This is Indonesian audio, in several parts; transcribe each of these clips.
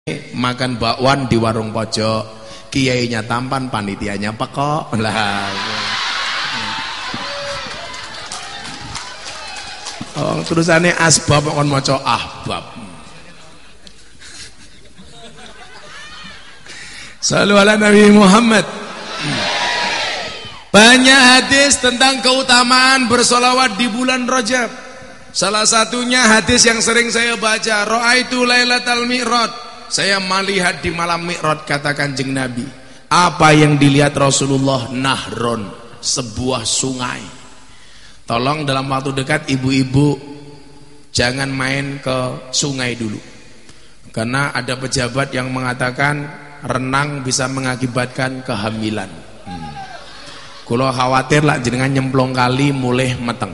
makan bakwan di warung pojok, kiainya tampan, panitianya pekok lah. Oh, terusannya asbab kon maca ahbab. Shallu ala Nabi Muhammad. Banyak hadis tentang keutamaan bersolawat di bulan Rajab. Salah satunya hadis yang sering saya baca, Ra'aitu Lailatal Mi'raj. Saya melihat di malam Mi'raj, kata Kanjeng Nabi. Apa yang dilihat Rasulullah? Nahron, sebuah sungai. Tolong dalam waktu dekat ibu-ibu jangan main ke sungai dulu. Karena ada pejabat yang mengatakan renang bisa mengakibatkan kehamilan. Kalau khawatir lah jenengan nyemplung kali mulai meteng.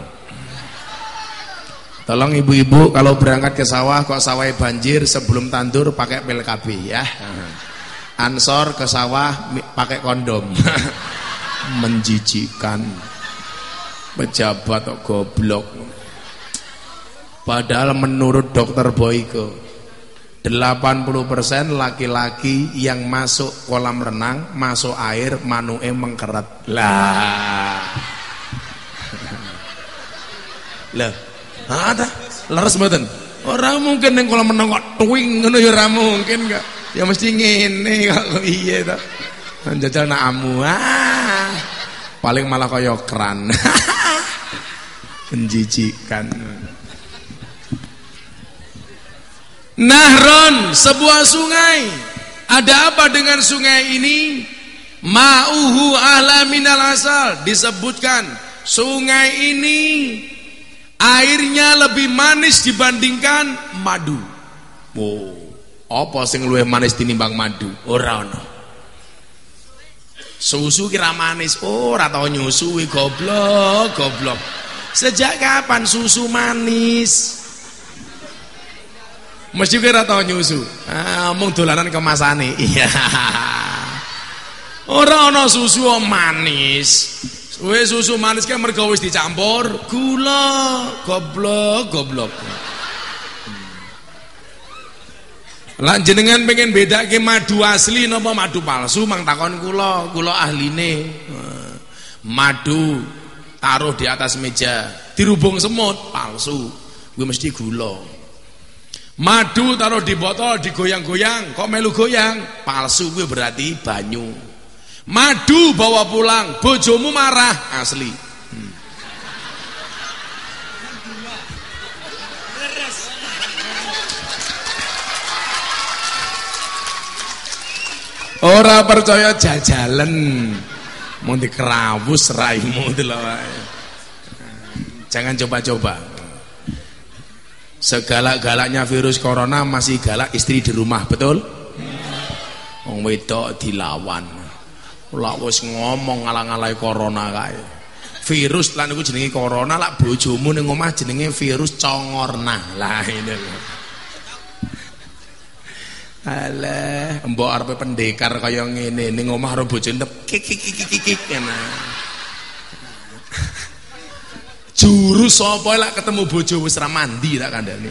Tolong ibu-ibu kalau berangkat ke sawah kok sawah banjir, sebelum tandur pakai PLKB ya. Ansor ke sawah pakai kondom. Menjijikkan. Pejabat kok goblok. Padahal menurut dokter Boyke 80% laki-laki yang masuk kolam renang, masuk air, manuke mengkeret. Lah. Lah, ada leres mboten? Ora mungkin ning kolam renang kok tuwing ngono ya ora mungkin kok. Ya mesti ngene kok piye to. Njajal nak amu. Paling malah kaya keran. Menjijikkan. Nahron, sebuah sungai. Ada apa dengan sungai ini? Ma'uhu ahla minal asal. Disebutkan sungai ini airnya lebih manis dibandingkan madu. Oh, apa sing luwih manis tinimbang madu? Ora ono. Susu kira manis, ora tau nyusui, goblok, goblok. Sejak kapan susu manis? Mesti kira tau nyusu. Mung dolanan kemasane. Iya. Ora ana susu manis. Susu manis kan mergo wis dicampur gula, goblok, goblok. Lah jenengan pengen bedake madu asli napa madu palsu, mang takon kula ahline. Madu taruh di atas meja, dirubung semut, palsu. Kuwi mesti gula. Madu taruh di botol, digoyang-goyang, kok melu goyang, palsu, kuwi berarti banyu. Madu bawa pulang, bojomu marah, asli. Ora percaya jajalan, mau dikerawus raimu itu loh. Jangan coba-coba. Segalak-galaknya virus corona masih galak istri di rumah, betul? Wong wedok dilawan. Lah wis ngomong ngalang-alai corona kae. Virus lan iku jenenge corona, lak bojomu ning omah jenenge virus congorna. Lah ini lho. Alah, mbok arepe pendekar kaya ngene ning omah karo bojone kik ngene. Jurus sapa lak ketemu bojo wis ra mandi tak kandhane.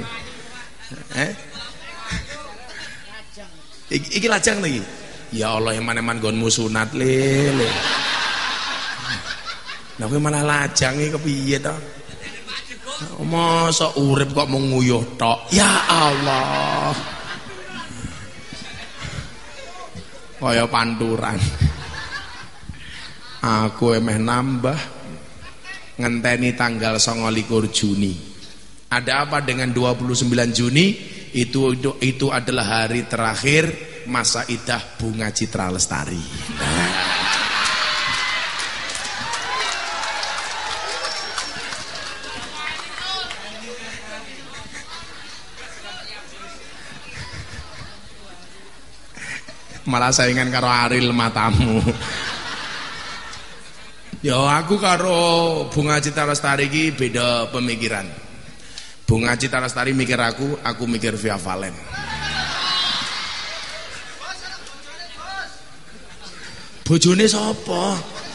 Iki lajang lagi. Ya Allah, eman-eman nggonmu sunat le. Lah kowe malah lajang iki kepiye to? Masa urip kok mung nguyuh tok. Ya Allah. Kaya panturan. Aku emeh nambah ngenteni tanggal 29 Juni. Ada apa dengan 29 Juni? Itu adalah hari terakhir masa idah Bunga Citra Lestari. Malah saingan karo Ariel matamu. Ya aku karo Bunga Citra Lestari iki beda pemikiran. Bunga Citra Lestari mikir aku mikir Via Valen. Bojone sapa?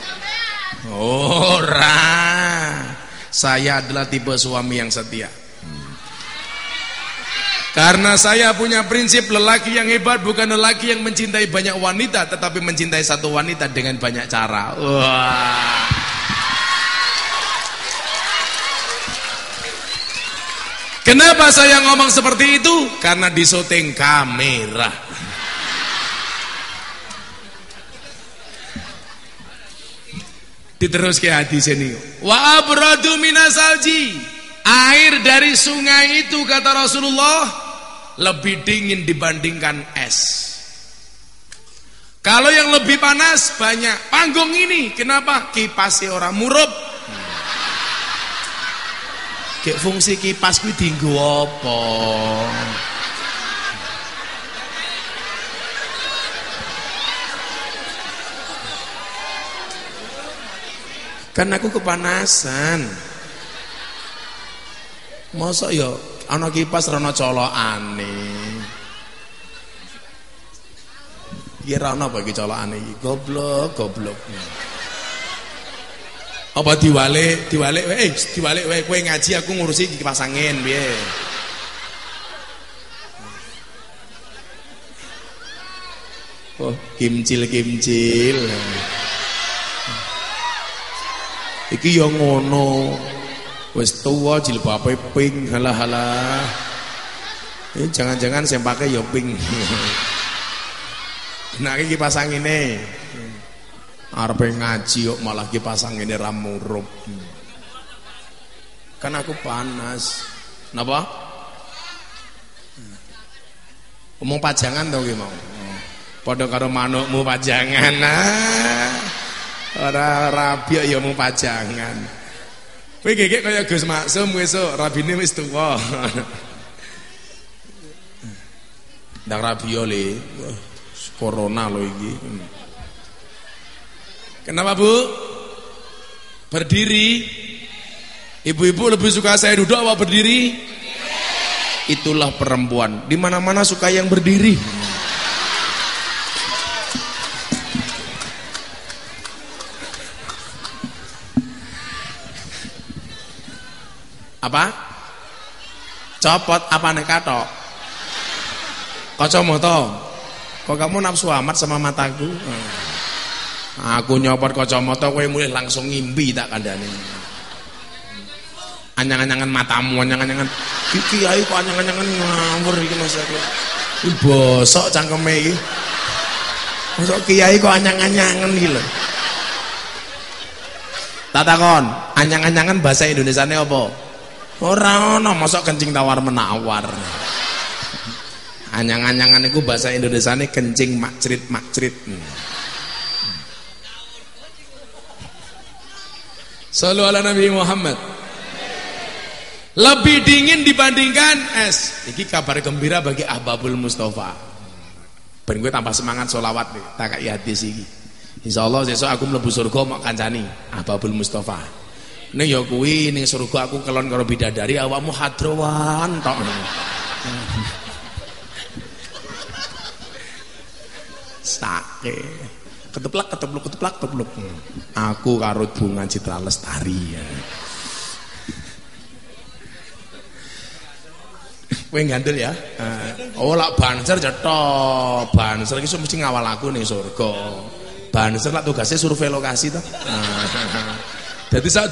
Ora. Saya adalah tipe suami yang setia. Karena saya punya prinsip lelaki yang hebat bukan lelaki yang mencintai banyak wanita, tetapi mencintai satu wanita dengan banyak cara. Wah. Kenapa saya ngomong seperti itu? Karena di syuting kamera. Diterus ke hadis ini. Wa abradu minasalji. Air dari sungai itu kata Rasulullah lebih dingin dibandingkan es. Kalau yang lebih panas banyak. Panggung ini kenapa? Kipasnya orang murup. Kayak fungsi kipas kuwi dienggo apa? Kan aku kepanasan. Mosok ya ana kipas rono colokane. Iki ra ono apa iki colokane iki? Goblok. Apa diwalik wae kowe ngaji aku ngurusi kipas angin piye? Oh, kimcil. Iki ya ngono. Wis tuwa jilbabe pink, halah. Ini jangan-jangan sing pakai ya pink. Nah iki kipas angine. Arepe ngaji kok malah kipas angine ra murup. Kan aku panas. Napa? Ngomong pajangan to ki mau. Padha karo manukmu pajangan. Ora rabi ya mau pajangan. Kowe gegek kaya Gus Maksum esuk rabine wis tuwa. Ndang rabia le. Corona lho iki. Kenapa, Bu? Berdiri. Ibu-ibu lebih suka saya duduk apa berdiri? Itulah perempuan. Di mana-mana suka yang berdiri. Apa? Copot apa nih katok? Kacamata. Kok kamu nafsu amat sama mataku? Aku nyopot kacamata kowe mulai langsung ngimpi tak kandhane. Anyang-anyangan matamu, anyang-anyangan kiai kok anyang-anyangan ngawur iki Mas aku. Iki bosok cangkeme iki. Mosok kiai kok anyang-anyangan iki lho. Tak takon, anyang-anyangan bahasa Indonesiane apa? Ora ono mosok kencing tawar menawar. Anyang-anyangan iku bahasa Indonesiane kencing makcrit. Sallu ala Nabi Muhammad. Lebih dingin dibandingkan es. Iki kabar gembira bagi Ahbabul Mustafa. Ben gue tambah semangat sholawat nih, tak kayak hadis iki. Insyaallah sesuk aku mlebu surga mak kancani Ahbabul Mustafa. Ning ya kuwi ning surga aku kelon karo bidadari awakmu hadrowan tok. Sake. Keteplak. Aku karo Bunga Citra Lestari ya. Kowe gandel ya. Oh lak banser cetok. Banser iki mesti ngawal aku ning surga. Banser lak tugasnya survei lokasi to. Dadi